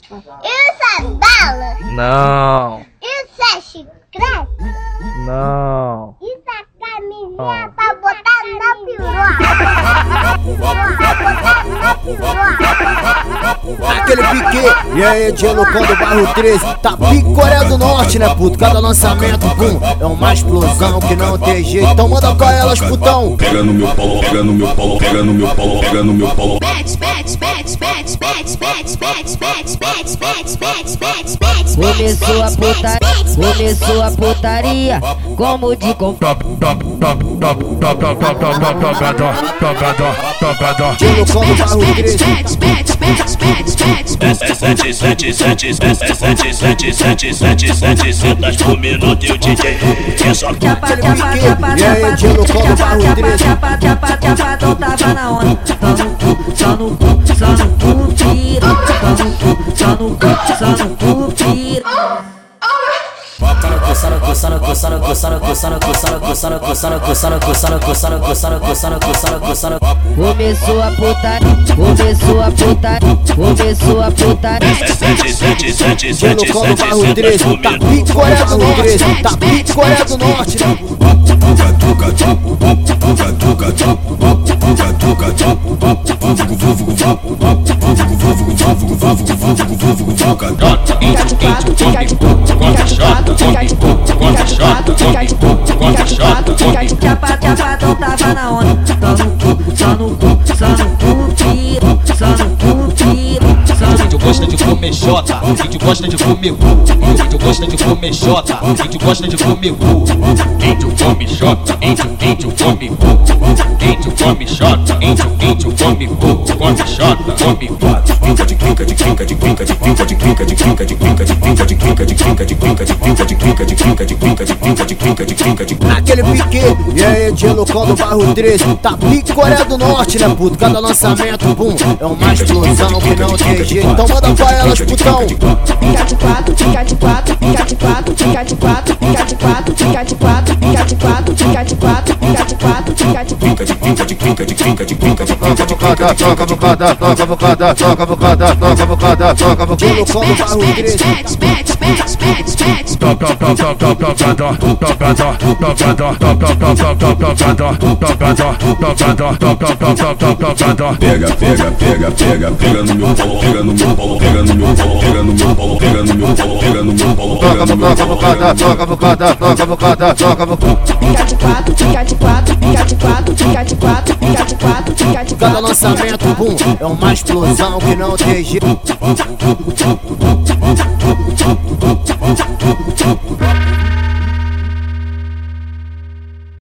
Isso é bala? Não. Isso é chiclete? Não. Isso é camisinha pra botar na piroca. Aquele pique, e aí, Diego do bairro 13. Tá pique Coreia do Norte, né, puto? Cada lançamento, pum, é uma explosão que não tem jeito. Então manda com elas, putão. Pega no meu pau, pega no meu pau, pega no meu pau, pega no meu pau. Começou a putaria, como de Diego do bairro 13. Sentas por minuto e o DJ só Chapa, então tava na onda. Só no cu, tira. Só no cu, tira. Começou a putaria. Diego do bairro 13. Tá pique Coreia do Norte, tá pique Coreia do Norte, né? Chapa, então tava na onda. Só no cu, tira. Vídeo gosta de comer xota, vídeo gosta de comer cu. Vídeo gosta de comer xota, vídeo gosta de comer cu. Vídeo come xota, vídeo come cu. Vídeo come xota, vídeo come cu. Come xota, come cu. Aquele pique, e aí, Diego do bairro 13. Tá pique Coreia do Norte, né, puto? Cada lançamento, pum, é uma explosão que não tem jeito. Então manda pra elas, putão. Fica de quatro, fica de quatro, fica de quatro, fica de quatro, fica de quatro, fica de quatro, fica de quatro, fica de quatro, fica de quatro, fica de Pega no meu pau, pega no meu pau, pega no meu pau, pega no meu pau, pega no meu pau, pega no meu pau, pega no meu pau. Fica de quatro, fica de quatro, fica de quatro, fica de quatro, fica de quatro, fica de Cada lançamento, pum, é uma explosão que não tem jeito.